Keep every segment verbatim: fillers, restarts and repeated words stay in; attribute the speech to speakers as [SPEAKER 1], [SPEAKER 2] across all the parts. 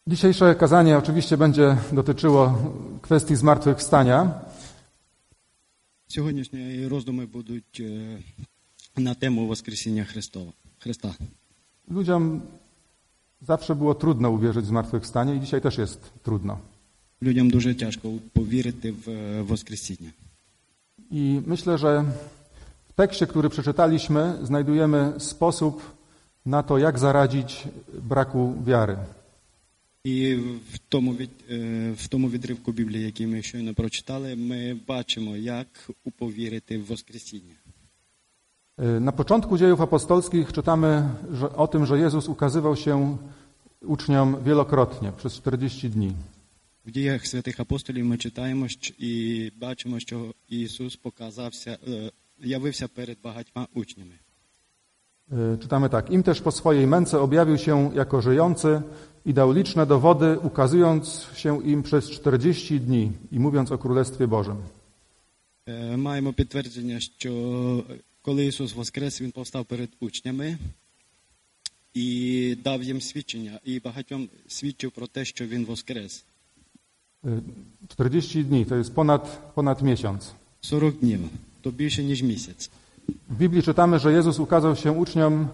[SPEAKER 1] Dzisiejsze kazanie oczywiście będzie dotyczyło kwestii zmartwychwstania.
[SPEAKER 2] Сьогоднішні роздуми будуть на тему Воскресіння Христова, Христа.
[SPEAKER 1] Ludziom zawsze było trudno uwierzyć w zmartwychwstanie i dzisiaj też jest trudno.
[SPEAKER 2] Людям дуже тяжко повірити в Воскресіння.
[SPEAKER 1] I myślę, że w tekście, który przeczytaliśmy, znajdujemy sposób na to, jak zaradzić braku wiary.
[SPEAKER 2] І в тому, від, в тому відривку Біблії, який ми щойно прочитали, ми бачимо, як уповірити в Воскресіння.
[SPEAKER 1] Na początku dziejów apostolskich czytamy że, o tym, że Jezus ukazywał się uczniom wielokrotnie przez czterdzieści dni.
[SPEAKER 2] В діях святих апостолів ми читаємо і бачимо, що Ісус показався, явився перед багатьма учнями.
[SPEAKER 1] Czytamy tak. Im też po swojej męce objawił się jako żyjący i dał liczne dowody, ukazując się im przez czterdzieści dni i mówiąc o Królestwie Bożym.
[SPEAKER 2] Маємо підтвердження, що коли Ісус воскрес, Він повстав перед учнями і дав їм свідчення, і багатьом свідчив про те, що Він воскрес.
[SPEAKER 1] czterdzieści dni, to jest ponad, ponad miesiąc.
[SPEAKER 2] сорок днів, to більше, ніж місяць.
[SPEAKER 1] W Biblii czytamy, że Jezus ukazał się uczniom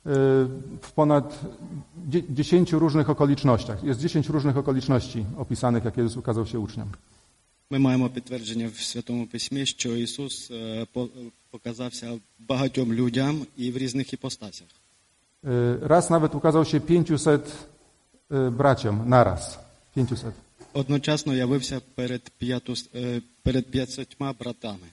[SPEAKER 1] w ponad dziesięciu różnych okolicznościach. Jest dziesięć różnych okoliczności opisanych, jak Jezus ukazał się uczniom.
[SPEAKER 2] Ми маємо підтвердження в Святому Письмі, що Ісус показався багатьом людям і в різних іпостасях.
[SPEAKER 1] Raz nawet ukazał się pięciuset braciom naraz. pięciuset.
[SPEAKER 2] Одночасно явився перед, п'яту, перед п'ятсотьма братами.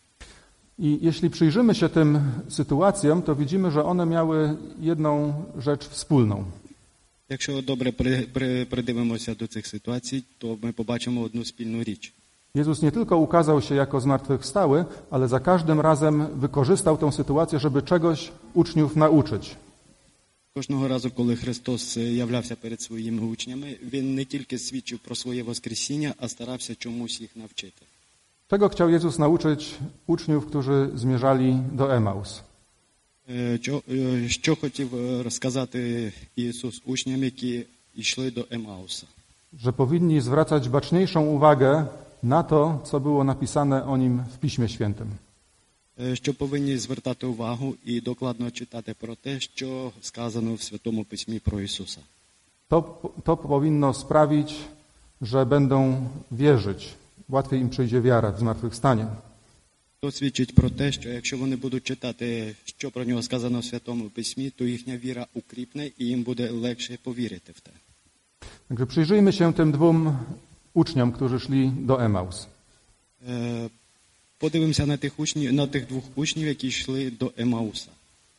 [SPEAKER 1] I jeśli przyjrzymy się tym sytuacjom, to widzimy, że one miały jedną rzecz wspólną.
[SPEAKER 2] Якщо добре придивимося до цих ситуацій, то ми побачимо одну спільну річ.
[SPEAKER 1] Jezus nie tylko ukazał się jako zmartwychwstały, ale za każdym razem wykorzystał tę sytuację, żeby czegoś uczniów nauczyć.
[SPEAKER 2] Кожного разу, коли Христос являвся перед своїми учнями, Він не тільки свідчив про своє Воскресіння, а старався чомусь їх навчити.
[SPEAKER 1] Czego chciał Jezus nauczyć uczniów, którzy zmierzali do Emaus?
[SPEAKER 2] Що, що хотів розказати Ісус учням, які йшли до Емауса?
[SPEAKER 1] Że powinni zwracać baczniejszą uwagę na to, co było napisane o nim w Piśmie Świętym.
[SPEAKER 2] Що повинні звертати увагу і докладно читати про те, що сказано в Святому Письмі про Ісуса.
[SPEAKER 1] To, to powinno sprawić, że będą wierzyć. Łatwiej im przyjdzie wiara w zmartwychwstanie.
[SPEAKER 2] То свідчить про те, що якщо вони будуть читати, що про нього сказано в Святому Письмі, то їхня віра укріпне і їм буде легше повірити в те.
[SPEAKER 1] Także przyjrzyjmy się tym dwóm uczniom, którzy szli do Emaus.
[SPEAKER 2] Подивимося на тих учнів, на тих двох учнів, які йшли до Емауса.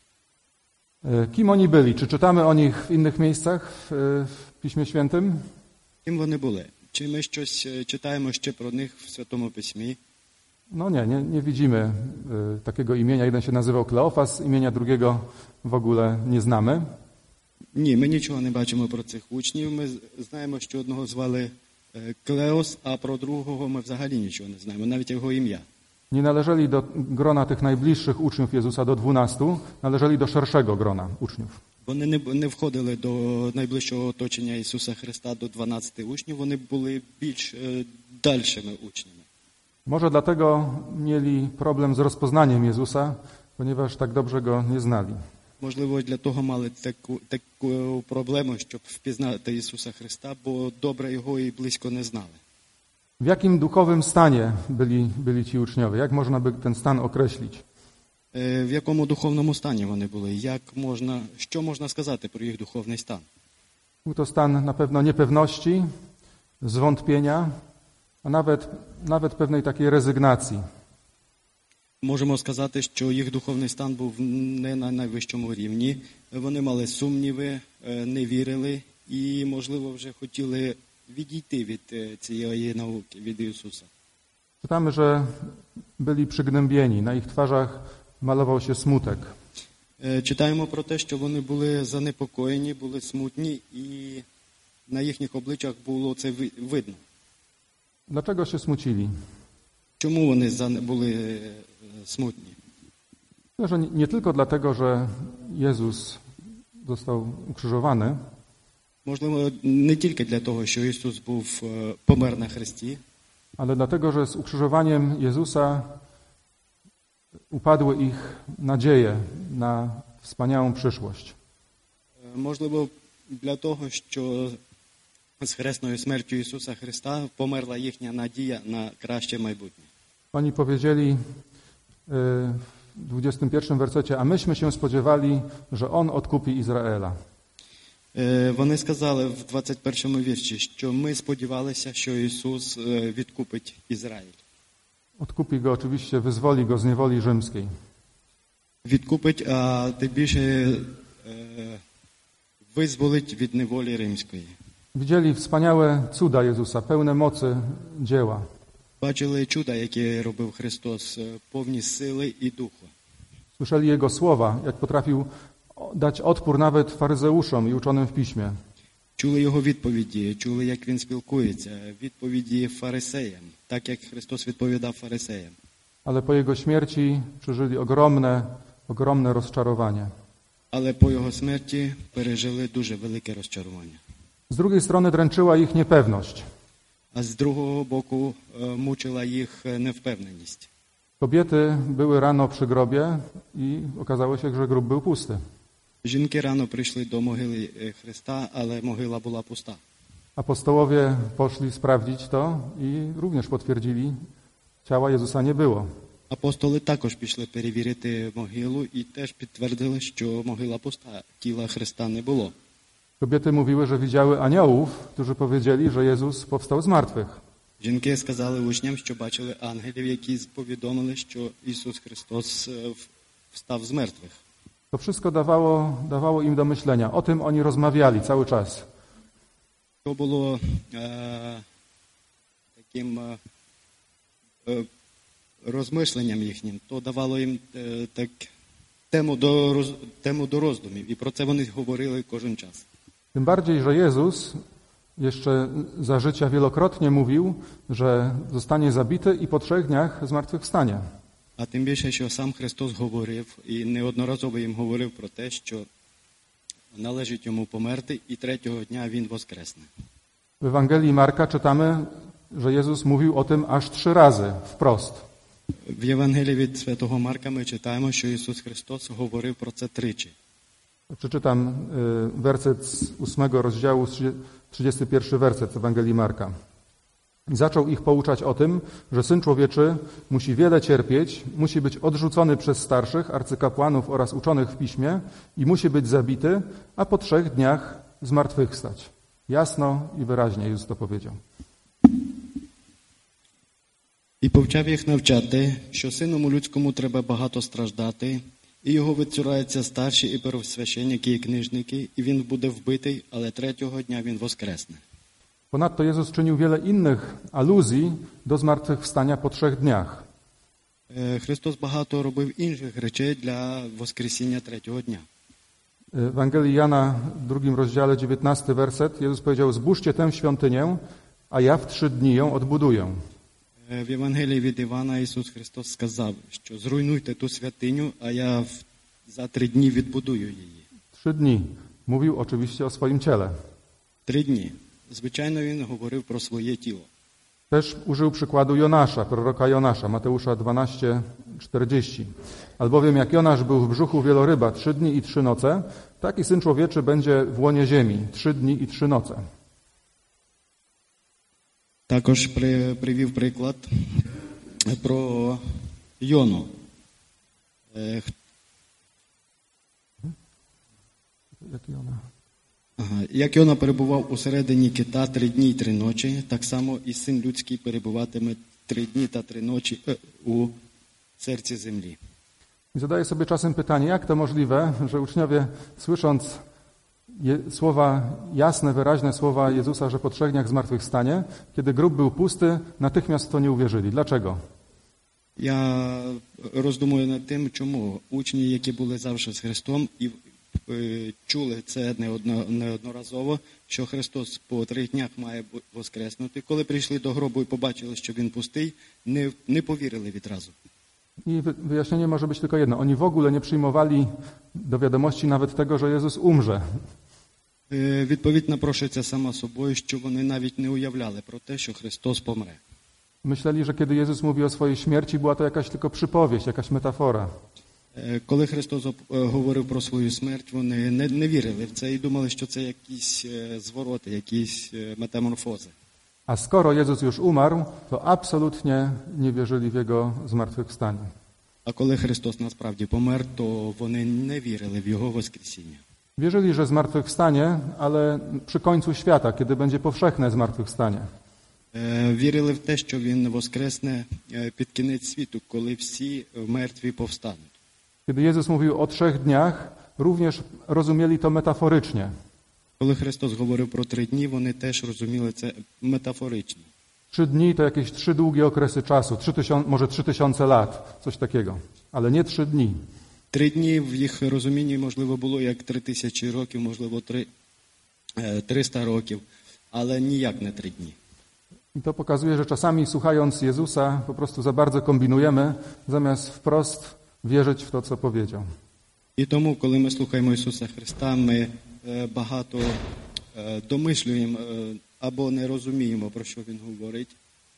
[SPEAKER 1] Kim oni byli? Czy czytamy o nich w innych miejscach w, w Piśmie Świętym?
[SPEAKER 2] Ким вони були? Чи ми щось читаємо ще про них в Святому Письмі?
[SPEAKER 1] No nie, nie, nie widzimy y, takiego imienia. Jeden się nazywał Kleofas, imienia drugiego w ogóle nie znamy.
[SPEAKER 2] Ні, ми нічого не бачимо про цих учнів. Ми знаємо, що одного звали Клеос, а про другого ми взагалі нічого не знаємо, навіть його ім'я.
[SPEAKER 1] Nie należeli do grona tych najbliższych uczniów Jezusa, do dwunastu, należeli do szerszego grona uczniów.
[SPEAKER 2] Вони не, не входили до найближчого оточення Ісуса Христа, до дванадцяти учнів, вони були більш е, дальшими учнями.
[SPEAKER 1] Może dlatego mieli problem z rozpoznaniem Jezusa, ponieważ tak dobrze Go nie znali.
[SPEAKER 2] Можливо, для того мали таку, таку проблему, щоб впізнати Ісуса Христа, бо добре Його і близько не знали.
[SPEAKER 1] W jakim duchowym stanie byli, byli ci uczniowie? Jak można by ten stan określić?
[SPEAKER 2] В якому духовному стані вони були? Як можна, що можна сказати про їх духовний стан?
[SPEAKER 1] Był to stan na pewno niepewności, zwątpienia, a nawet, nawet pewnej takiej rezygnacji.
[SPEAKER 2] Можемо сказати, що їх духовний стан був не на найвищому рівні. Вони мали сумніви, не вірили і, можливо, вже хотіли відійти від цієї науки, від Ісуса.
[SPEAKER 1] Czytamy, że byli przygnębieni, na ich twarzach malował się smutek.
[SPEAKER 2] Читаємо про те, що вони були занепокоєні, були смутні, і на їхніх обличчях було це видно.
[SPEAKER 1] Dlaczego się smucili?
[SPEAKER 2] Чому вони були смутні?
[SPEAKER 1] Myślę, że nie tylko dlatego, że Jezus został ukrzyżowany.
[SPEAKER 2] Можливо, не тільки для того, що Ісус був помер на хресті,
[SPEAKER 1] ale dlatego, że z ukrzyżowaniem Jezusa upadły ich nadzieje na wspaniałą przyszłość.
[SPEAKER 2] Можливо, для того, що з хресною смертю Ісуса Христа померла їхня надія на краще майбутнє.
[SPEAKER 1] Oni powiedzieli w dwudziestym pierwszym wersecie, a myśmy się spodziewali, że On odkupi Izraela.
[SPEAKER 2] Вони сказали в двадцять першому вірші, що ми сподівалися, що Ісус відкупить Ізраїль.
[SPEAKER 1] Odkupi go oczywiście, wyzwoli go z niewoli rzymskiej.
[SPEAKER 2] Відкупить, а тим більше визволить від неволі римської.
[SPEAKER 1] Widzieli wspaniałe cuda Jezusa, pełne mocy dzieła.
[SPEAKER 2] Бачили чуда, які робив Христос, повні сили і духу.
[SPEAKER 1] Słyszeli Jego słowa, jak potrafił dać odpór nawet faryzeuszom i uczonym w piśmie.
[SPEAKER 2] Чули Його відповіді, чули, як Він спілкується, відповіді фарисеям, так як Христос відповідав фарисеям.
[SPEAKER 1] Ale po Jego śmierci przeżyli ogromne, ogromne rozczarowanie.
[SPEAKER 2] Але по Його смерті пережили дуже велике розчарування.
[SPEAKER 1] Z drugiej strony dręczyła ich niepewność.
[SPEAKER 2] А з другого боку мучила їх невпевненість.
[SPEAKER 1] Kobiety były rano przy grobie i okazało się, że grób był pusty.
[SPEAKER 2] Жінки рано прийшли до могили Христа, але могила була пуста.
[SPEAKER 1] Apostołowie poszli sprawdzić to i również potwierdzili, ciała Jezusa nie było.
[SPEAKER 2] Апостоли також пішли перевірити могилу і теж підтвердили, що могила пуста, тіла Христа не було.
[SPEAKER 1] Kobiety mówiły, że widziały aniołów, którzy powiedzieli, że Jezus powstał z martwych.
[SPEAKER 2] Жінки сказали учням, що бачили ангелів, які повідомили, що Ісус Христос встав з мертвих.
[SPEAKER 1] To wszystko dawało, dawało im do myślenia. O tym oni rozmawiali cały czas.
[SPEAKER 2] To було е, таким е, розмишленням їхнім. То давало їм е, так, тему, до, роз, тему до роздумів. І про це вони говорили кожен час.
[SPEAKER 1] Tym bardziej, że Jezus jeszcze za życia wielokrotnie mówił, że zostanie zabity i po trzech dniach zmartwychwstanie.
[SPEAKER 2] А тим більше, що сам Христос говорив, і неодноразово їм говорив про те, що належить йому померти, і третього дня він воскресне.
[SPEAKER 1] W Ewangelii Marka czytamy, że Jezus mówił o tym aż trzy razy, wprost.
[SPEAKER 2] В Євангелії від Святого Марка ми читаємо, що Ісус Христос говорив про це тричі.
[SPEAKER 1] Przeczytam werset z ósmego rozdziału, trzydziesty pierwszy werset Ewangelii Marka. I zaczął ich pouczać o tym, że Syn Człowieczy musi wiele cierpieć, musi być odrzucony przez starszych, arcykapłanów oraz uczonych w piśmie i musi być zabity, a po trzech dniach zmartwychwstać. Jasno i wyraźnie Jezus to powiedział.
[SPEAKER 2] І повчав їх навчати, що Синому людському треба багато страждати, і його відцураються старші і первосвященники і книжники, і він буде вбитий, але третього дня він воскресне.
[SPEAKER 1] Ponadto Jezus czynił wiele innych aluzji do zmartwychwstania po trzech dniach.
[SPEAKER 2] Христос багато робив інших речей для воскресіння третього дня.
[SPEAKER 1] W Ewangelii Jana w drugim rozdziale, dziewiętnasty werset, Jezus powiedział: zbóżcie tę świątynię, a ja w trzy dni ją odbuduję.
[SPEAKER 2] В Євангелії від Івана Ісус Христос сказав, що зруйнуйте ту святиню, а я за три дні відбудую її.
[SPEAKER 1] Trzy dni. Mówił oczywiście o swoim ciele.
[SPEAKER 2] Три дні. Звичайno, він говорив про своє тіло.
[SPEAKER 1] Też użył przykładu Jonasza, proroka Jonasza, Mateusza dwanaście czterdzieści. Albowiem jak Jonasz był w brzuchu wieloryba trzy dni i trzy noce, tak i Syn Człowieczy będzie w łonie ziemi trzy dni i trzy noce.
[SPEAKER 2] Також при, привів приклад про Йону.
[SPEAKER 1] Jak Jona?
[SPEAKER 2] Ага. Як Йона перебував усередині кита три дні й три ночі, так само і Син Людський перебуватиме три дні та три ночі е, у серці землі.
[SPEAKER 1] I zadaję sobie czasem pytanie, jak to możliwe, że uczniowie, słysząc je, słowa, jasne, wyraźne słowa Jezusa, że po trzech dniach zmartwychwstanie, kiedy grób był pusty, natychmiast w to nie uwierzyli. Dlaczego?
[SPEAKER 2] Я роздумую над тим, чому учні, які були завжди з Христом і е, чули це неодно, неодноразово, що Христос по трьох днях має воскреснути. Коли прийшли до гробу і побачили, що він пустий, не, не повірили відразу.
[SPEAKER 1] I wyjaśnienie może być tylko jedno. Oni w ogóle nie przyjmowali do wiadomości nawet tego, że Jezus umrze.
[SPEAKER 2] Е, Відповідь напрошується сама собою, що вони навіть не уявляли про те, що Христос помре.
[SPEAKER 1] Myśleli, że kiedy Jezus mówi o swojej śmierci, była to jakaś tylko przypowieść, jakaś metafora.
[SPEAKER 2] Е, Коли Христос оп- е, говорив про свою смерть, вони не, не вірили в це і думали, що це якісь е, звороти, якісь е, метаморфози.
[SPEAKER 1] A skoro Jezus już umarł, to absolutnie nie wierzyli w Jego zmartwychwstanie.
[SPEAKER 2] А коли Христос насправді помер, то вони не вірили в Його Воскресіння.
[SPEAKER 1] Wierzyli, że zmartwychwstanie, ale przy końcu świata, kiedy będzie powszechne zmartwychwstanie.
[SPEAKER 2] Е, Вірили в те, що Він воскресне е, під кінець світу, коли всі мертві повстануть.
[SPEAKER 1] Kiedy Jezus mówił o trzech dniach, również rozumieli to metaforycznie.
[SPEAKER 2] Коли Христос говорив про три дні, вони теж розуміли це метафорично.
[SPEAKER 1] Trzy dni to jakieś trzy długie okresy czasu, trzy tysiące, może trzy tysiące lat, coś takiego, ale nie trzy dni.
[SPEAKER 2] Три дні в їх розумінні, можливо, було як три тисячі років, можливо, три, е, триста років, але ніяк не три дні.
[SPEAKER 1] I to pokazuje, że czasami słuchając Jezusa po prostu za bardzo kombinujemy, zamiast wprost wierzyć w to, co powiedział.
[SPEAKER 2] І тому, коли ми слухаємо Ісуса Христа, ми е, багато е, домислюємо е, або не розуміємо, про що Він говорить.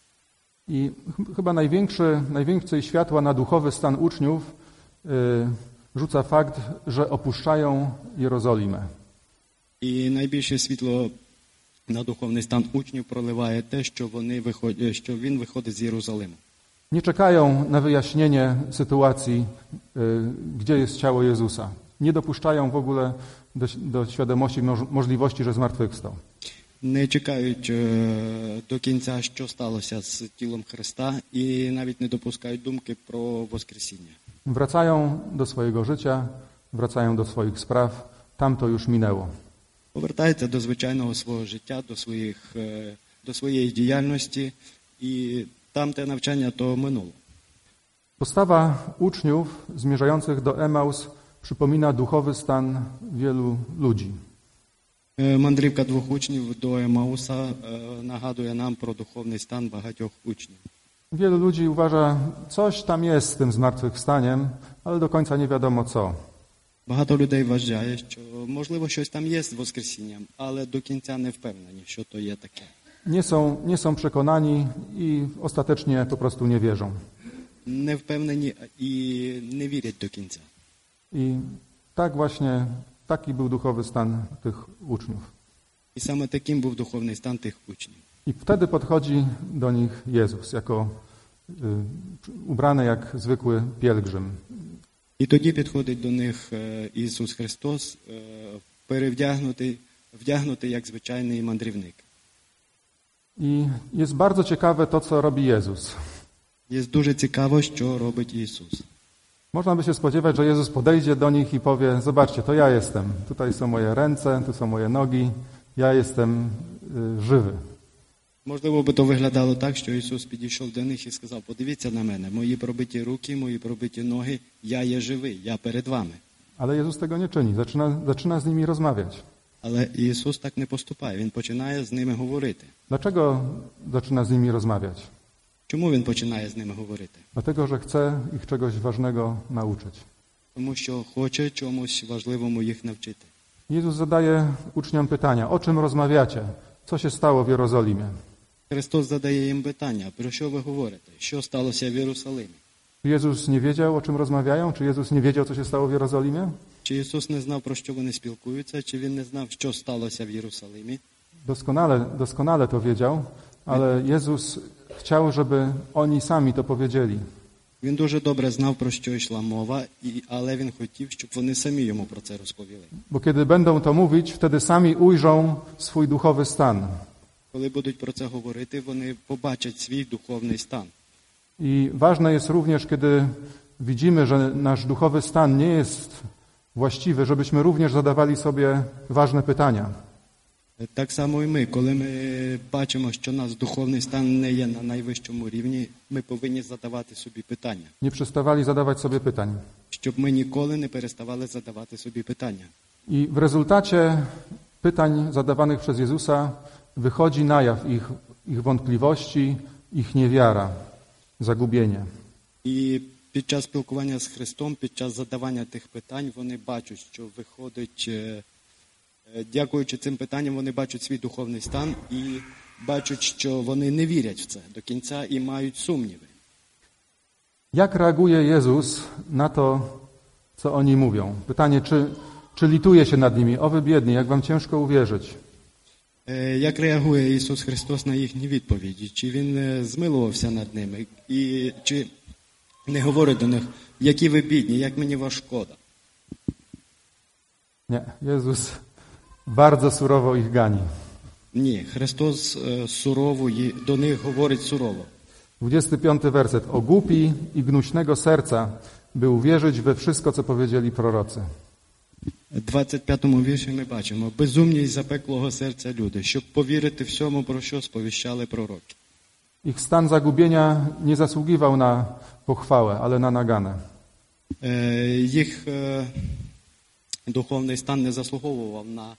[SPEAKER 1] I ch- chyba największy, najwięcej światła na duchowy stan uczniów y, rzuca fakt, że opuszczają Jerozolimę.
[SPEAKER 2] І найбільше світло на духовний стан учнів проливає те, що, вони виходять, що Він виходить з Єрусалиму.
[SPEAKER 1] Nie czekają na wyjaśnienie sytuacji, y, gdzie jest ciało Jezusa. Nie dopuszczają w ogóle do, do świadomości moż- możliwości, że zmartwychwstał.
[SPEAKER 2] Не чекають е, до кінця, що сталося з тілом Христа, і навіть не допускають думки про Воскресіння.
[SPEAKER 1] Wracają do swojego życia, wracają do swoich spraw. Tam to już minęło.
[SPEAKER 2] Повертаються до звичайного свого життя, до, своїх, е, до своєї діяльності, і там те навчання то минуло.
[SPEAKER 1] Postawa uczniów zmierzających do Emaus przypomina duchowy stan wielu ludzi.
[SPEAKER 2] Е, Мандрівка двох учнів до Емауса е, нагадує нам про духовний стан багатьох учнів.
[SPEAKER 1] Wielu ludzi uważa, coś tam jest z tym zmartwychwstaniem, ale do końca nie wiadomo co.
[SPEAKER 2] Багато людей вважає, що можливо щось там є з Воскресінням, але до кінця не впевнені, що то є таке.
[SPEAKER 1] Nie są, nie są przekonani i ostatecznie po prostu nie wierzą.
[SPEAKER 2] Не впевнені і не вірять до кінця.
[SPEAKER 1] I tak właśnie, taki był duchowy stan tych uczniów.
[SPEAKER 2] І саме таким був духовний стан тих учнів.
[SPEAKER 1] I wtedy podchodzi do nich Jezus, jako y, ubrany jak zwykły pielgrzym.
[SPEAKER 2] І тоді підходить до них е, Ісус Христос, е, перевдягнутий, вдягнутий як звичайний мандрівник.
[SPEAKER 1] I jest bardzo ciekawe to, co robi Jezus.
[SPEAKER 2] Є дуже цікаво, що робить Ісус.
[SPEAKER 1] Można by się spodziewać, że Jezus podejdzie do nich i powie, zobaczcie, to ja jestem. Tutaj są moje ręce, tu są moje nogi. Ja jestem y, żywy.
[SPEAKER 2] Можливо, би то виглядало так, що Ісус підійшов до них і сказав, подивіться на мене, мої пробиті руки, мої пробиті ноги, я є живий, я перед вами.
[SPEAKER 1] Ale Jezus tego nie czyni. Zaczyna, zaczyna z nimi rozmawiać.
[SPEAKER 2] Але Ісус так не поступає, Він починає з ними говорити.
[SPEAKER 1] Dlaczego zaczyna z nimi rozmawiać?
[SPEAKER 2] Чому Він починає з ними говорити?
[SPEAKER 1] Dlatego, że chce ich czegoś ważnego nauczyć.
[SPEAKER 2] Тому що хоче чомусь важливому їх навчити.
[SPEAKER 1] Jezus zadaje uczniom pytania, o czym rozmawiacie? Co się stało w Jerozolimie?
[SPEAKER 2] Христос задає їм питання, про що ви говорите? Що сталося в Єрусалимі?
[SPEAKER 1] Czy Jezus nie wiedział, o czym rozmawiają? Czy Jezus nie wiedział, co się stało w Jerozolimie?
[SPEAKER 2] Чи Ісус не знав, про що вони спілкуються, чи Він не знав, що сталося в Єрусалимі?
[SPEAKER 1] Doskonale, doskonale to wiedział, ale Jezus chciał, żeby oni sami to powiedzieli.
[SPEAKER 2] Він дуже добре знав, про що йшла мова, і, але він хотів, щоб вони самі йому про це розповіли.
[SPEAKER 1] Bo kiedy będą to mówić, wtedy sami ujrzą swój duchowy stan.
[SPEAKER 2] Коли будуть про це говорити, вони побачать свій духовний стан.
[SPEAKER 1] I ważne jest również, kiedy widzimy, że nasz duchowy stan nie jest właściwy, żebyśmy również zadawali sobie ważne pytania.
[SPEAKER 2] Так само і ми, коли ми бачимо, що наш духовний стан не є на найвищому рівні, ми повинні задавати собі питання.
[SPEAKER 1] Nie przestawali zadawać sobie pytań.
[SPEAKER 2] Щоб ми ніколи не переставали задавати собі питання.
[SPEAKER 1] I w rezultacie pytań zadawanych przez Jezusa wychodzi na jaw ich, ich wątpliwości, ich niewiara, zagubienie.
[SPEAKER 2] І під час спілкування з Христом, під час задавання тих питань, вони бачать, що виходить е, Е, Дякуючи цим питанням, вони бачать свій духовний стан і бачать, що вони не вірять в це до кінця і мають сумніви.
[SPEAKER 1] Jak reaguje Jezus na to, co oni mówią? Pytanie, czy, czy lituje się nad nimi? O wy biedni, jak wam ciężko uwierzyć.
[SPEAKER 2] Е, Як реагує Ісус Христос на їхні відповіді? Чи Він е, змилувався над ними? І чи не говорить до них, які ви бідні, як мені вас шкода?
[SPEAKER 1] Nie, Jezus bardzo surowo ich gani.
[SPEAKER 2] Ні, Христос е, сурово є- до них говорить сурово.
[SPEAKER 1] dwudziesty piąty werset. O głupi i gnuśnego serca, by uwierzyć we wszystko, co powiedzieli prorocy.
[SPEAKER 2] В двадцять п'ятому вірші ми бачимо безумні й запеклого серця люди, щоб повірити всьому, про що сповіщали пророки.
[SPEAKER 1] Ich stan zagubienia nie zasługiwał na pochwałę, ale na naganę.
[SPEAKER 2] Е, Їх е, духовний стан не заслуговував на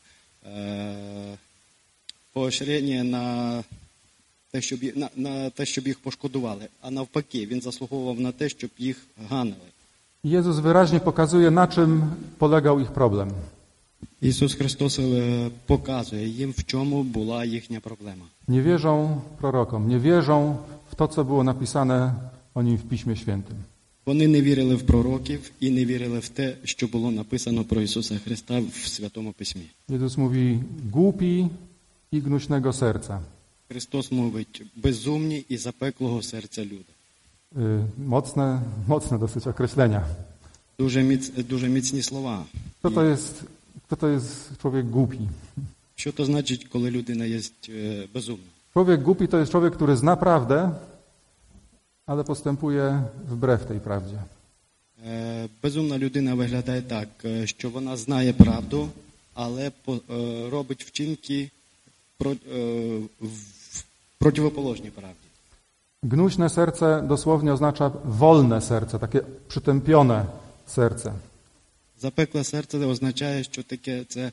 [SPEAKER 2] е, поощрення, на те, щоб, ї- на, на те, щоб їх пошкодували, а навпаки, він заслуговував на те, щоб їх ганили.
[SPEAKER 1] Jezus wyraźnie pokazuje, na czym polegał ich problem.
[SPEAKER 2] Ісус Христос е, показує їм, в чому була їхня проблема.
[SPEAKER 1] Nie wierzą prorokom, nie wierzą w to, co było napisane o nim w Piśmie Świętym.
[SPEAKER 2] Вони не вірили в пророків і не вірили в те, що було написано про Ісуса Христа в Святому Письмі.
[SPEAKER 1] Jezus mówi, głupi i gnuśnego serca.
[SPEAKER 2] Христос мовить, безумні і запеклого серця люди.
[SPEAKER 1] Y, Mocne, mocne dosyć określenia.
[SPEAKER 2] Дуже, міц, дуже міцні слова.
[SPEAKER 1] Kto to jest, kto to jest człowiek głupi?
[SPEAKER 2] Що то значить, коли людина є е, безумна?
[SPEAKER 1] Człowiek głupi to jest człowiek, który zna prawdę, ale postępuje wbrew tej prawdzie.
[SPEAKER 2] Е, Безумна людина виглядає так, е, що вона знає правду, але по- е, робить вчинки про- е, в- противоположні правді.
[SPEAKER 1] Gnuśne serce dosłownie oznacza wolne serce, takie przytępione serce.
[SPEAKER 2] Запекле серце означає, що таке це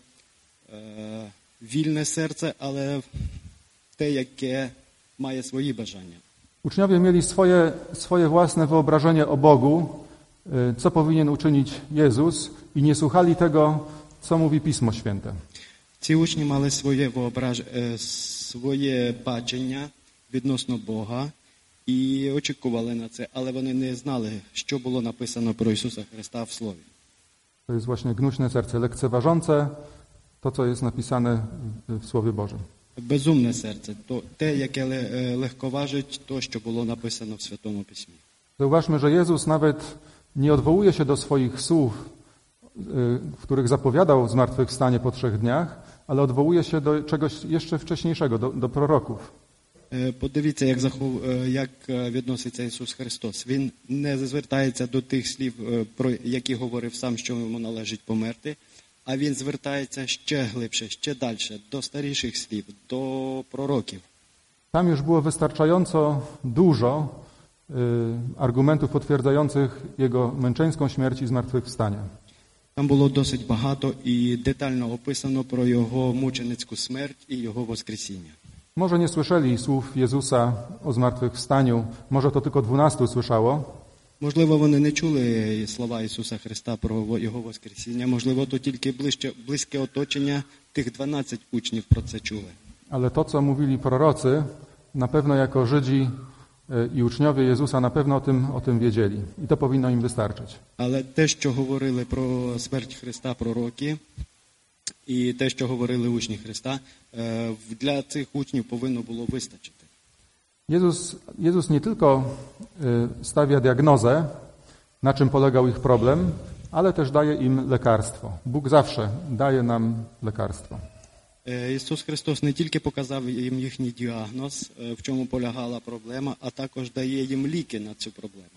[SPEAKER 2] е, вільне серце, але те, яке має свої бажання.
[SPEAKER 1] Uczniowie mieli swoje, swoje własne wyobrażenie o Bogu, y, co powinien uczynić Jezus i nie słuchali tego, co mówi Pismo Święte.
[SPEAKER 2] Ці учні мали своє воображ... е, своє бачення відносно Бога і очікували на це, але вони не знали, що було написано про Ісуса Христа в Слові.
[SPEAKER 1] To jest właśnie gnuśne serce, lekceważące to, co jest napisane w, w Słowie Bożym.
[SPEAKER 2] Безумне серце, то те, яке ле- е, легковажить то, що було написано в Святому Письмі.
[SPEAKER 1] Zauważmy, że Jezus nawet nie odwołuje się do swoich słów, y, w których zapowiadał zmartwychwstanie po trzech dniach, ale odwołuje się do czegoś jeszcze wcześniejszego, do, do proroków.
[SPEAKER 2] Е, Подивіться, як, захов... е, як е, відноситься Ісус Христос. Він не звертається до тих слів, е, про які говорив сам, що йому належить померти, а він звертається ще глибше, ще далі, до старіших слів, до пророків.
[SPEAKER 1] Tam już było wystarczająco dużo y, argumentów potwierdzających Jego męczeńską śmierć i zmartwychwstanie.
[SPEAKER 2] Там було досить багато і детально описано про його мученицьку смерть і його воскресіння.
[SPEAKER 1] Może nie słyszeli słów Jezusa o zmartwychwstaniu, może to tylko dwunastu słyszało,
[SPEAKER 2] Можливо, вони не чули слова Ісуса Христа про його воскресіння, можливо, то тільки ближче, близьке оточення тих дванадцять учнів про це чули.
[SPEAKER 1] ale to, co mówili prorocy, na pewno jako Żydzi y, i uczniowie Jezusa na pewno o tym, o tym wiedzieli i to powinno im wystarczyć.
[SPEAKER 2] Але те, що говорили про смерть Христа пророки, і те, що говорили учні Христа, е, для цих учнів повинно було вистачити.
[SPEAKER 1] Jezus, Jezus nie tylko y, stawia diagnozę, na czym polegał ich problem, ale też daje im lekarstwo. Bóg zawsze daje nam lekarstwo.
[SPEAKER 2] Е, Ісус Христос не тільки показав їм їхній діагноз, е, в чому полягала проблема, а також дає їм ліки на цю проблему.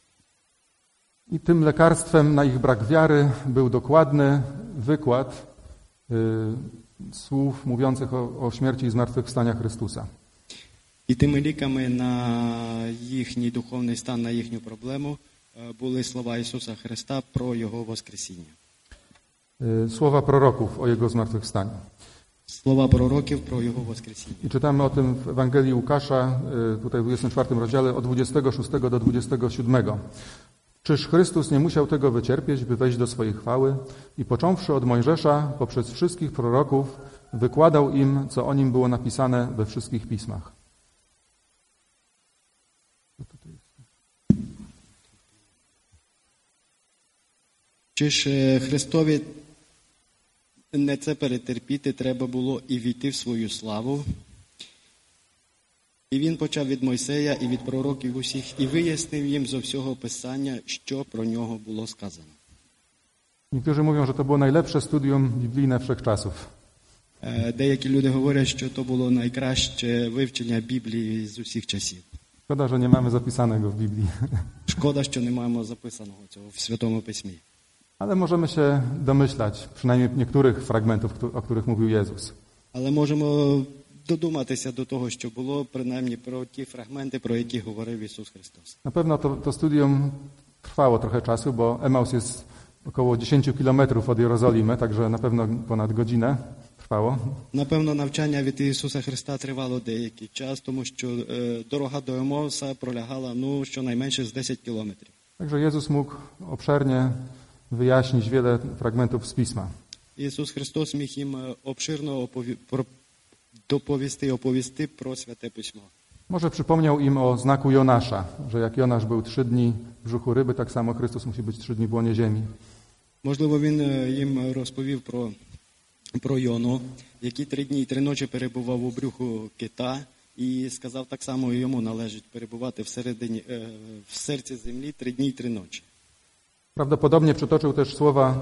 [SPEAKER 1] I tym lekarstwem na ich brak wiary był dokładny wykład y, słów mówiących o, o śmierci i zmartwychwstania Chrystusa.
[SPEAKER 2] І тими ліками на їхній духовний стан, на їхню проблему е, були слова Ісуса Христа про Його воскресіння.
[SPEAKER 1] Y, Słowa proroków o Jego zmartwychwstaniu.
[SPEAKER 2] Слова пророків про Його воскресіння.
[SPEAKER 1] I czytamy o tym w Ewangelii Łukasza, y, tutaj w dwudziestym czwartym rozdziale, od dwudziestego szóstego do dwudziestego siódmego. Czyż Chrystus nie musiał tego wycierpieć, by wejść do swojej chwały? I począwszy od Mojżesza, poprzez wszystkich proroków, wykładał im, co o nim było napisane we wszystkich pismach.
[SPEAKER 2] Чи ж е, Христові не це перетерпіти треба було і війти в свою славу? І він почав від Мойсея і від пророків усіх, і вияснив їм зо всього Писання, що про нього було сказано.
[SPEAKER 1] Niektórzy mówią, że to było najlepsze studium biblijne wszechczasów.
[SPEAKER 2] Е, Деякі люди говорять, що то було найкраще вивчення Біблії з усіх часів.
[SPEAKER 1] Szkoda, że nie mamy zapisanego w Biblii.
[SPEAKER 2] Шкода, що не маємо записаного цього в Святому Письмі.
[SPEAKER 1] Ale możemy się domyślać, przynajmniej niektórych fragmentów, o których mówił Jezus.
[SPEAKER 2] Але можемо додуматися до того, що було, принаймні про ті фрагменти, про які говорив Ісус Христос.
[SPEAKER 1] Na pewno to, to studium trwało trochę czasu, bo Emaus jest około dziesięć kilometrów od Jerozolimy, także na pewno ponad godzinę trwało.
[SPEAKER 2] Напевно, навчання від Ісуса Христа тривало деякий час, тому що е, дорога до Емауса пролягала, ну, щонайменше з десять кілометрів.
[SPEAKER 1] Także Jezus mógł obszernie wyjaśnić wiele fragmentów z Pisma.
[SPEAKER 2] Ісус Христос міг їм е, обширно опові... про... доповісти, оповісти про Святе Письмо.
[SPEAKER 1] Może przypomniał im o znaku Jonasza, że jak Jonasz był trzy dni w brzuchu ryby, tak samo Chrystus musi być trzy dni w łonie ziemi.
[SPEAKER 2] Можливо, він е, їм розповів про, про Йону, який три дні і три ночі перебував у брюху кита, і сказав, так само і йому належить перебувати всередині, е, в серці землі три дні і три ночі.
[SPEAKER 1] Prawdopodobnie przytoczył też słowa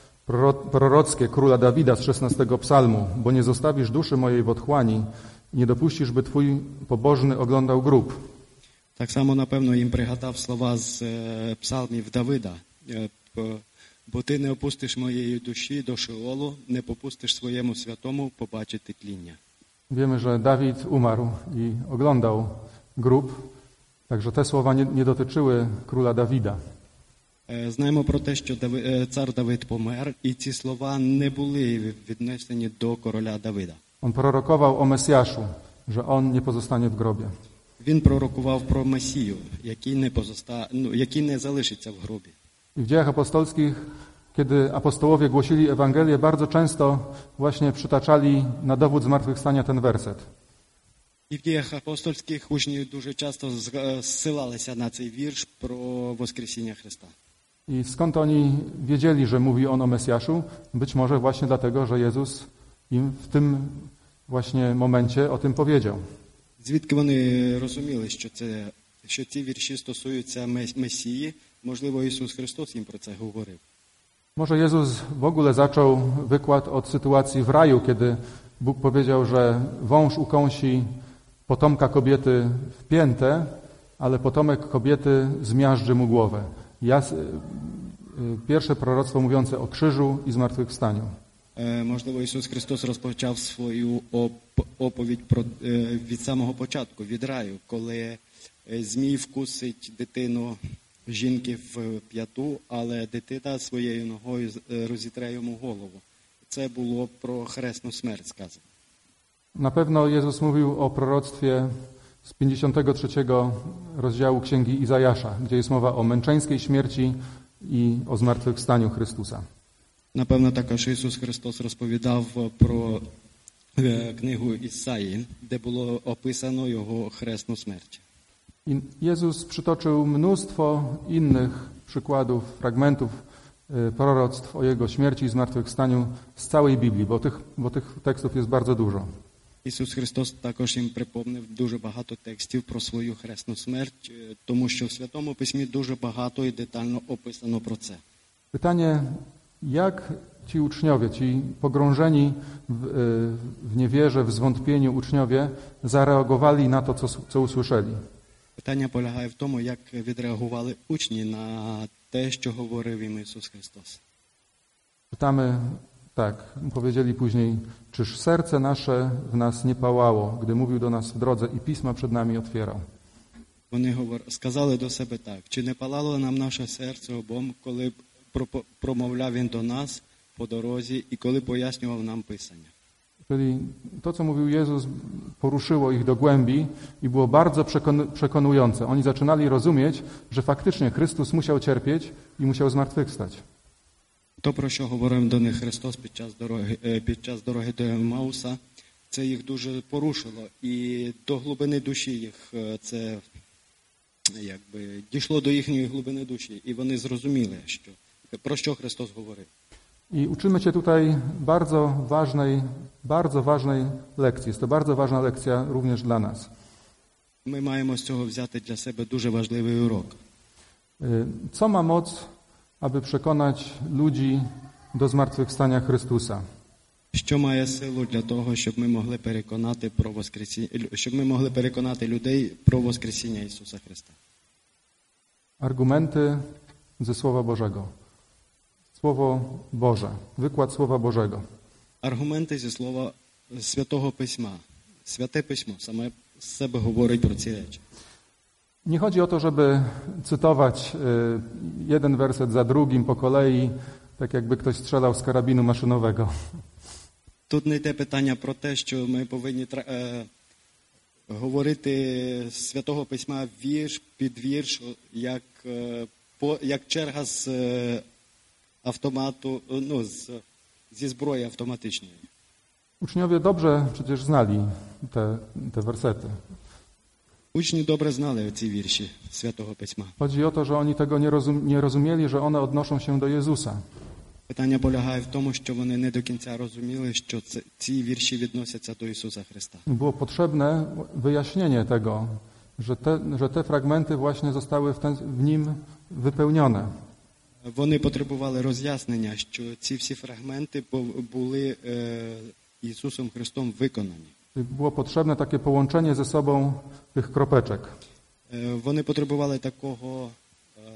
[SPEAKER 1] prorockie króla Dawida z szesnastego psalmu, bo nie zostawisz duszy mojej w otchłani i nie dopuścisz, by twój pobożny oglądał grób.
[SPEAKER 2] Так само, напевно, їм пригадав слова з е, псалмів Давида. Е, п- «Бо ти не опустиш моєї душі до Шеолу, не попустиш своєму святому побачити тління».
[SPEAKER 1] Wiemy, że Dawid umarł i oglądał grób, także te słowa nie, nie dotyczyły króla Dawida.
[SPEAKER 2] Е, Знаємо про те, що Дави- е, цар Давид помер, і ці слова не були віднесені до короля Давида.
[SPEAKER 1] On prorokował o Mesjaszu, że on nie pozostanie w grobie.
[SPEAKER 2] Він пророкував про Месію, який не, позоста... ну, який не залишиться в гробі.
[SPEAKER 1] I w dziejach apostolskich, kiedy apostołowie głosili Ewangelię, bardzo często właśnie przytaczali na dowód zmartwychwstania ten werset.
[SPEAKER 2] І в діях апостольських учні дуже часто зга- зсилалися на цей вірш про Воскресіння Христа.
[SPEAKER 1] I skąd oni wiedzieli, że mówi on o Mesjaszu? Być może właśnie dlatego, że Jezus im w tym właśnie momencie o tym powiedział.
[SPEAKER 2] Звідки вони розуміли, що, це, що ці вірші стосуються Мес- Месії? Можливо, Ісус Христос їм про це говорив.
[SPEAKER 1] Może Jezus w ogóle zaczął wykład od sytuacji w raju, kiedy Bóg powiedział, że wąż ukąsi potomka kobiety w piętę, ale potomek kobiety zmiażdży mu głowę. Jas... Pierwsze proroctwo mówiące o krzyżu i zmartwychwstaniu.
[SPEAKER 2] Е, Можливо, Ісус Христос розпочав свою оп- оповідь про, е, від самого початку, від раю, коли е, змій вкусить дитину жінки в п'яту, але дитина своєю ногою з- е, розітре йому голову. Це було про хресну смерть сказано.
[SPEAKER 1] Na pewno Jezus mówił o proroctwie z pięćdziesiątego trzeciego rozdziału Księgi Izajasza, gdzie jest mowa o męczeńskiej śmierci i o zmartwychwstaniu Chrystusa.
[SPEAKER 2] Напевно, також Ісус Христос розповідав про е, книгу Ісаї, де було описано його хресну смерть.
[SPEAKER 1] I Jezus przytoczył mnóstwo innych przykładów, fragmentów y, proroctw o Jego śmierci i zmartwychwstaniu z całej Biblii, bo tych, bo tych tekstów jest bardzo dużo.
[SPEAKER 2] Ісус Христос також їм припомнив дуже багато текстів про свою хресну смерть, е, тому що в Святому Письмі дуже багато і детально описано про це.
[SPEAKER 1] Pytanie, jak ci uczniowie, ci pogrążeni w, y, w niewierze, w zwątpieniu uczniowie zareagowali na to, co, co usłyszeli?
[SPEAKER 2] Питання полягає в тому, як відреагували учні на те, що говорив їм Ісус Христос.
[SPEAKER 1] Czytamy tak, powiedzieli później, czyż serce nasze w nas nie pałało, gdy mówił do nas w drodze i pisma przed nami otwierał.
[SPEAKER 2] Вони говор... сказали до себе так, чи не палало нам наше серце обом, коли пропо- промовляв він до нас по дорозі і коли пояснював нам Писання.
[SPEAKER 1] Czyli to, co mówił Jezus, poruszyło ich do głębi i było bardzo przekon- przekonujące. Oni zaczynali rozumieć, że faktycznie Chrystus musiał cierpieć i musiał zmartwychwstać.
[SPEAKER 2] То, про що говорив до них Христос під час дороги, е, під час дороги до Еммауса, це їх дуже порушило. І до глибини душі їх е, це якби дійшло до їхньої глибини душі. І вони зрозуміли, що, про що Христос говорив.
[SPEAKER 1] I uczymy się tutaj bardzo ważnej, bardzo ważnej lekcji. Jest to bardzo ważna lekcja również dla nas.
[SPEAKER 2] Ми маємо з цього взяти для себе дуже важливий урок.
[SPEAKER 1] Y, Co ma moc, aby przekonać ludzi do zmartwychwstania Chrystusa?
[SPEAKER 2] Що має силу для того, щоб ми могли переконати про воскресіння, щоб ми могли переконати людей про воскресіння Ісуса Христа?
[SPEAKER 1] Argumenty ze Słowa Bożego. Słowo Boże, wykład Słowa Bożego.
[SPEAKER 2] Аргументи зі слова Святого Письма. Святе Письмо саме з себе говорить про ці речі.
[SPEAKER 1] Nie chodzi o to, żeby cytować y, jeden werset za drugim po kolei, tak jakby ktoś strzelał z karabinu maszynowego.
[SPEAKER 2] Тут не йде питання про те, що ми повинні тра- е, говорити з Святого Письма вірш під вірш, як, е, по, як черга з е, автомату, е, ну, з, зі зброї автоматичної.
[SPEAKER 1] Uczniowie dobrze przecież znali te, te wersety.
[SPEAKER 2] Учні добре знали ці вірші Святого Письма.
[SPEAKER 1] Chodzi o to, że oni tego nie, rozum, nie rozumieli, że one odnoszą się do Jezusa.
[SPEAKER 2] Питання полягає в тому, що вони не до кінця розуміли, що це, ці вірші відносяться до Ісуса Христа.
[SPEAKER 1] Było potrzebne wyjaśnienie tego, że te, że te fragmenty właśnie zostały w, ten, w nim wypełnione.
[SPEAKER 2] Вони потребували роз'яснення, що ці всі фрагменти були е, Ісусом Христом виконані.
[SPEAKER 1] Było potrzebne takie połączenie ze sobą tych kropeczek.
[SPEAKER 2] Е, вони потребували такого е,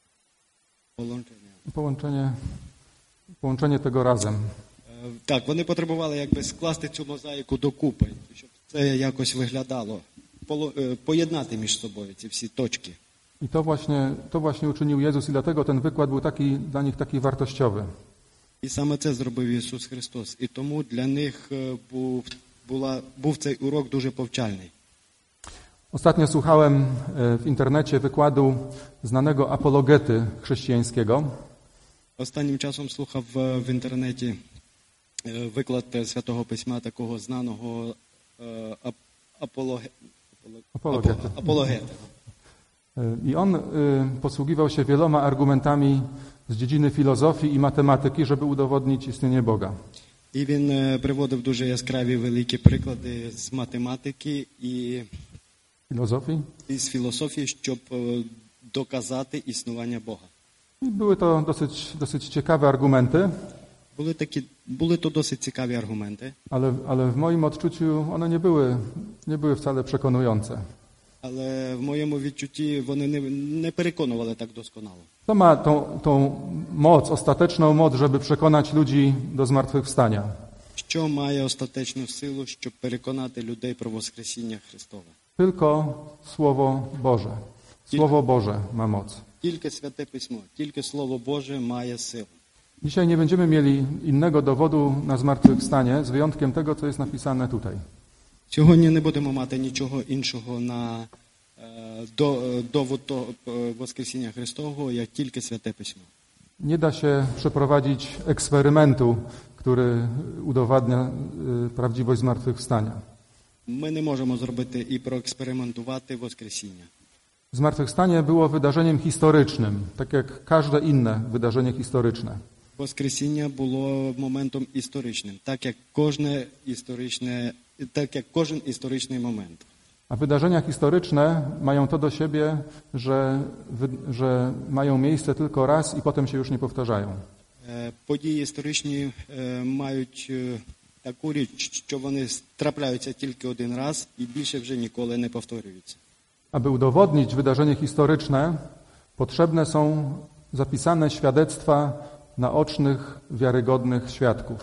[SPEAKER 2] положення.
[SPEAKER 1] Połączenie, połączenie tego razem.
[SPEAKER 2] Е, так, вони потребували якби скласти цю мозаїку докупи, щоб це якось виглядало, поло, е, поєднати між собою ці всі точки.
[SPEAKER 1] I to właśnie, to właśnie uczynił Jezus i dlatego ten wykład był taki, dla nich taki wartościowy.
[SPEAKER 2] І саме це зробив Ісус Христос. І тому для них е, був, була, був цей урок дуже повчальний.
[SPEAKER 1] Ostatnio słuchałem e, w internecie wykładu znanego apologety chrześcijańskiego.
[SPEAKER 2] Останнім часом слухав е, в інтернеті е, виклад е, Святого Письма такого знаного е, ап, апологе,
[SPEAKER 1] Apologety.
[SPEAKER 2] апо- апологета.
[SPEAKER 1] E, I on e, posługiwał się wieloma argumentami z dziedziny filozofii i matematyki, żeby udowodnić istnienie Boga.
[SPEAKER 2] І він е, приводив дуже яскраві великі приклади з математики і,
[SPEAKER 1] Filozofii.
[SPEAKER 2] і з філософії, щоб е, доказати існування Бога.
[SPEAKER 1] I były to dosyć, dosyć ciekawe argumenty,
[SPEAKER 2] Були такі, були то досить цікаві аргументи,
[SPEAKER 1] ale, ale w moim odczuciu one nie były, nie były wcale przekonujące.
[SPEAKER 2] але в моєму відчутті вони не, не переконували так досконало.
[SPEAKER 1] To ma tą, tą moc, ostateczną moc, żeby przekonać ludzi do zmartwychwstania.
[SPEAKER 2] Що має остаточну силу, щоб переконати людей про Воскресіння Христове?
[SPEAKER 1] Tylko Słowo Boże. Słowo Boże ma moc.
[SPEAKER 2] Тільки Святе Письмо, тільки Слово Боже має силу.
[SPEAKER 1] Dzisiaj nie będziemy mieli innego dowodu na zmartwychwstanie, z wyjątkiem tego, co jest napisane tutaj.
[SPEAKER 2] Сьогодні не будемо мати нічого іншого на е, до, е, довод того, е, Воскресіння Христового, як тільки Святе Письмо.
[SPEAKER 1] Nie da się przeprowadzić eksperymentu, który udowadnia y, prawdziwość zmartwychwstania.
[SPEAKER 2] Ми не можемо зробити і проекспериментувати Воскресіння.
[SPEAKER 1] Zmartwychwstanie było wydarzeniem historycznym, tak jak każde inne wydarzenie historyczne.
[SPEAKER 2] Воскресіння було моментом історичним, так як кожне історичне, так як кожен історичний момент.
[SPEAKER 1] A wydarzenia historyczne mają to do siebie, że, wy, że mają miejsce tylko raz i potem się już nie powtarzają.
[SPEAKER 2] Е, Події історичні е, мають е, таку річ, що вони трапляються тільки один раз і більше вже ніколи не повторюються.
[SPEAKER 1] Aby udowodnić wydarzenie historyczne, potrzebne są zapisane świadectwa naocznych, wiarygodnych świadków.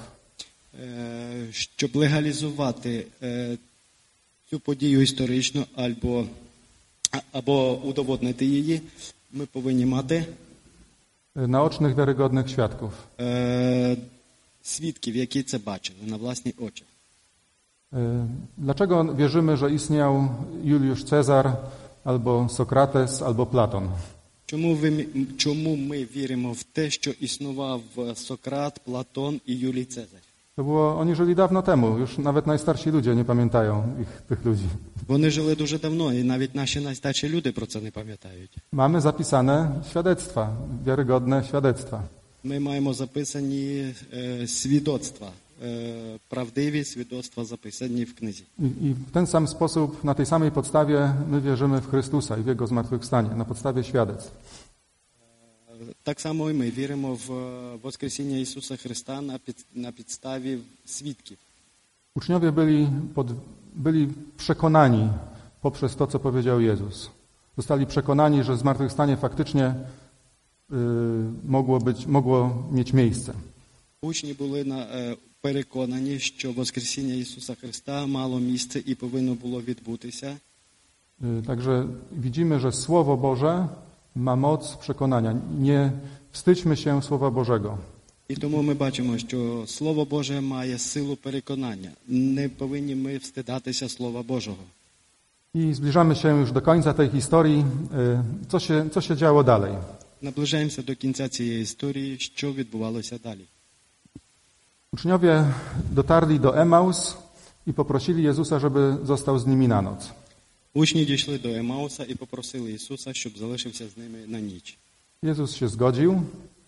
[SPEAKER 2] Е, Щоб легалізувати е, цю подію історичну або, а- або удоводнити її, ми повинні мати
[SPEAKER 1] Naocznych, wiarygodnych świadków.
[SPEAKER 2] е, свідків, які це бачили на власні очі.
[SPEAKER 1] Dlaczego wierzymy, że istniał Juliusz Cezar, albo Sokrates, albo Platon?
[SPEAKER 2] Чому, ви, чому ми віримо в те, що існував Сократ, Платон і Юлій Цезар?
[SPEAKER 1] To było, oni żyli dawno temu, już nawet najstarsi ludzie nie pamiętają ich, tych ludzi.
[SPEAKER 2] Вони жили дуже давно, і навіть наші найстарші люди про це не пам'ятають.
[SPEAKER 1] Mamy zapisane świadectwa, wiarygodne świadectwa.
[SPEAKER 2] Ми маємо записані е, свідоцтва, е, правдиві свідоцтва записані в книзі.
[SPEAKER 1] I, I w ten sam sposób, na tej samej podstawie my wierzymy w Chrystusa i w Jego zmartwychwstanie, na podstawie świadectw.
[SPEAKER 2] Так само і ми віримо в Воскресіння Ісуса Христа на, під, на підставі свідків.
[SPEAKER 1] Uczniowie byli, pod, byli przekonani poprzez to, co powiedział Jezus. Zostali przekonani, że zmartwychwstanie faktycznie y, mogło być, mogło mieć miejsce.
[SPEAKER 2] Учні були на, е, переконані, що Воскресіння Ісуса Христа мало місце і повинно було відбутися.
[SPEAKER 1] Y, Także widzimy, że Słowo Boże ma moc przekonania. Nie wstydźmy się Słowa Bożego.
[SPEAKER 2] І тому ми бачимо, що Слово Боже має силу переконання. Не повинні ми встидатися Слова Божого.
[SPEAKER 1] I zbliżamy się już do końca tej historii. Y, Co się, co się działo dalej?
[SPEAKER 2] Наближаємося до кінця цієї історії, що відбувалося далі.
[SPEAKER 1] Uczniowie dotarli do Emaus i poprosili Jezusa, żeby został z nimi na noc.
[SPEAKER 2] Учні дійшли до Емауса і попросили Ісуса, щоб залишився з ними на ніч.
[SPEAKER 1] Jezus się zgodził.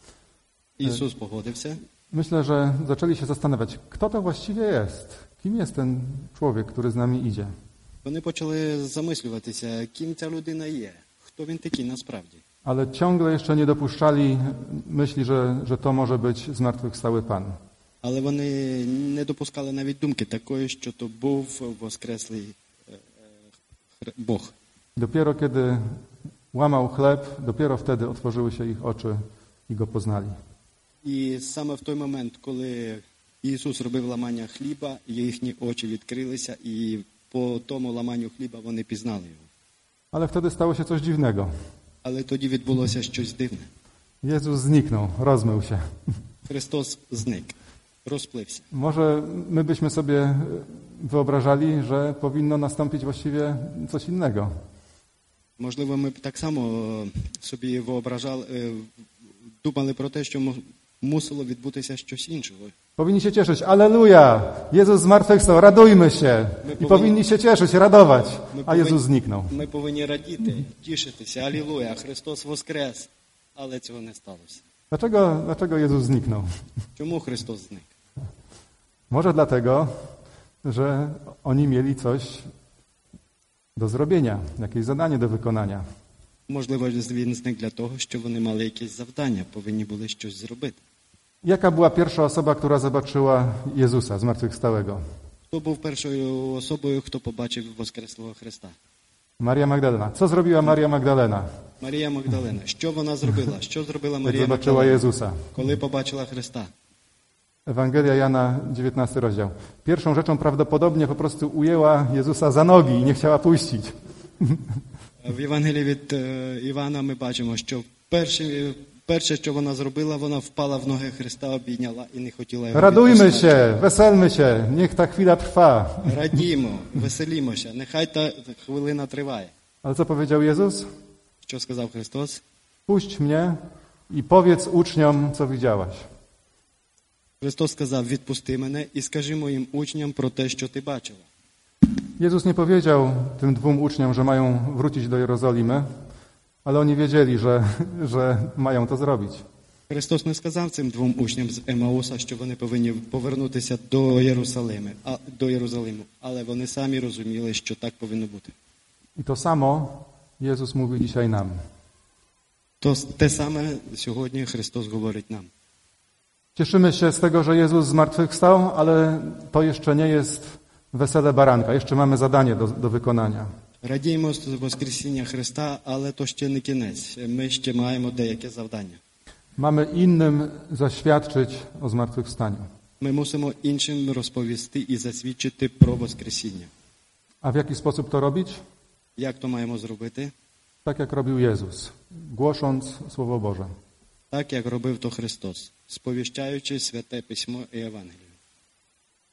[SPEAKER 2] Ісус погодився.
[SPEAKER 1] Myślę, że zaczęli się zastanawiać, kto to właściwie jest? Kim jest ten człowiek, który z nami idzie?
[SPEAKER 2] Вони почали замислюватися, ким ця людина є, хто він такий насправді.
[SPEAKER 1] Ale ciągle jeszcze nie dopuszczali myśli, że, że to może być zmartwychwstały Pan.
[SPEAKER 2] Але вони не допускали навіть думки такої, що то був воскреслий е, е, Бог.
[SPEAKER 1] Dopiero kiedy łamał chleb, dopiero wtedy otworzyły się ich oczy i Go poznali.
[SPEAKER 2] І саме в той момент, коли Ісус робив ламання хліба, їхні очі відкрилися, і по тому ламанню хліба вони пізнали його.
[SPEAKER 1] Ale wtedy stało się coś dziwnego.
[SPEAKER 2] Але тоді відбулося щось дивне.
[SPEAKER 1] Jezus zniknął, rozmył się.
[SPEAKER 2] Христос зник, розплився.
[SPEAKER 1] Może my byśmy sobie wyobrażali, że powinno nastąpić właściwie coś innego.
[SPEAKER 2] Можливо, ми б так само собі вyobrażали, е, думали про те, що мусило відбутися щось іншого.
[SPEAKER 1] Powinni się cieszyć. Alleluja! Jezus zmartwychwstał, radujmy się. I powinni się cieszyć, radować. A Jezus zniknął.
[SPEAKER 2] Ми повинні радіти, тішитися. Алілуя, Христос воскрес. Але цього не сталося.
[SPEAKER 1] Dlaczego, dlaczego Jezus zniknął?
[SPEAKER 2] Чому Христос зник?
[SPEAKER 1] Może dlatego, że oni mieli coś do zrobienia, jakieś zadanie do wykonania.
[SPEAKER 2] Можливо, він зник для того, що вони мали якесь завдання, повинні були щось зробити.
[SPEAKER 1] Jaka była pierwsza osoba, która zobaczyła Jezusa zmartwychwstałego?
[SPEAKER 2] Хто був першою особою, хто побачив воскреслого Христа?
[SPEAKER 1] Maria Magdalena. Co zrobiła Maria Magdalena,
[SPEAKER 2] Марія Магдалена. Що вона зробила? Що зробила
[SPEAKER 1] jak
[SPEAKER 2] Марія
[SPEAKER 1] zobaczyła
[SPEAKER 2] Магдалена,
[SPEAKER 1] Jezusa?
[SPEAKER 2] коли побачила Христа?
[SPEAKER 1] Ewangelia Jana, dziewiętnasty rozdział. Pierwszą rzeczą prawdopodobnie po prostu ujęła Jezusa za nogi i nie chciała puścić.
[SPEAKER 2] В Євангелії від е, Івана ми бачимо, що перше, перше, що вона зробила, вона впала в ноги Христа, обійняла і не хотіла його
[SPEAKER 1] Radujmy
[SPEAKER 2] відпускати.
[SPEAKER 1] się, weselmy się, niech ta chwila trwa.
[SPEAKER 2] Радімо, веселімося, нехай та хвилина триває.
[SPEAKER 1] Ale co powiedział Jezus?
[SPEAKER 2] Що сказав Христос?
[SPEAKER 1] Puść mnie i powiedz uczniom, co widziałaś.
[SPEAKER 2] Христос сказав, відпусти мене і скажи моїм учням про те, що ти бачила.
[SPEAKER 1] Jezus nie powiedział tym dwóm uczniom, że mają wrócić do Jerozolimy, ale oni wiedzieli, że, że mają to zrobić.
[SPEAKER 2] Христос не сказав цим двом учням з Емауса, що вони повинні повернутися до Єрусалиму, а, до Єрусалиму, але вони самі розуміли, що так повинно бути.
[SPEAKER 1] I to samo Jezus mówi dzisiaj nam.
[SPEAKER 2] То те саме сьогодні Христос говорить нам.
[SPEAKER 1] Cieszymy się z tego, że Jezus zmartwychwstał, ale to jeszcze nie jest wesele baranka. Jeszcze mamy zadanie do, do wykonania.
[SPEAKER 2] Радіємо з Воскресіння Христа, але то ще не кінець. Ми ще маємо деяке завдання.
[SPEAKER 1] Mamy innym zaświadczyć o zmartwychwstaniu.
[SPEAKER 2] Ми мусимо іншим розповісти і засвідчити про Воскресіння.
[SPEAKER 1] A w jaki sposób to robić?
[SPEAKER 2] Як то маємо зробити?
[SPEAKER 1] Tak jak robił Jezus, głosząc Słowo Boże.
[SPEAKER 2] Так, як робив то Христос, сповіщаючи Святе Письмо і Євангелію.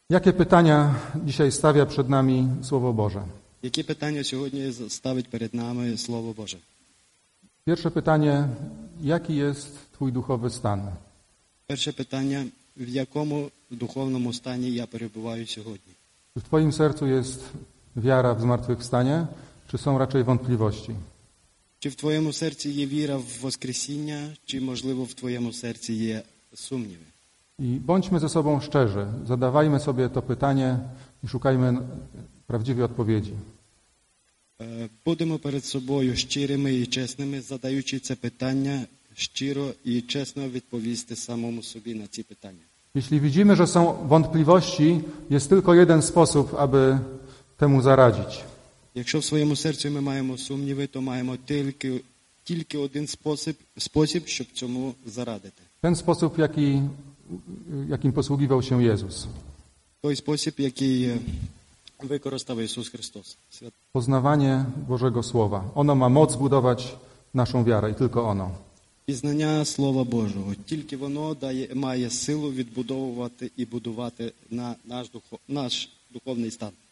[SPEAKER 1] Jakie pytania dzisiaj stawia przed nami Słowo Boże?
[SPEAKER 2] Які питання сьогодні ставить перед нами Слово Боже?
[SPEAKER 1] Pierwsze pytanie, jaki jest Twój duchowy stan?
[SPEAKER 2] Перше питання, в якому духовному стані я перебуваю сьогодні?
[SPEAKER 1] Czy w Twoim sercu jest wiara w zmartwychwstanie, czy są raczej wątpliwości?
[SPEAKER 2] Чи в твоєму серці є віра в Воскресіння, чи, можливо, в твоєму серці є сумніви?
[SPEAKER 1] I bądźmy ze sobą szczerzy, zadawajmy sobie to pytanie i szukajmy prawdziwej odpowiedzi.
[SPEAKER 2] Е, Будемо перед собою щирими і чесними, задаючи це питання щиро і чесно відповісти самому собі на ці питання.
[SPEAKER 1] Jeśli widzimy, że są wątpliwości, jest tylko jeden sposób, aby temu zaradzić.
[SPEAKER 2] Якщо в своєму серці ми маємо сумніви, то маємо тільки, тільки один спосіб, спосіб, щоб цьому зарадити.
[SPEAKER 1] Ten sposób, jaki, jakim posługiwał się Jezus.
[SPEAKER 2] Той спосіб, який е, використав Ісус Христос. Свят-
[SPEAKER 1] Poznawanie Bożego Słowa. Ono ma moc budować naszą wiarę i tylko ono.
[SPEAKER 2] Пізнання Слова Божого. Тільки воно дає, має силу відбудовувати і будувати на наш, духов, наш духовний стан.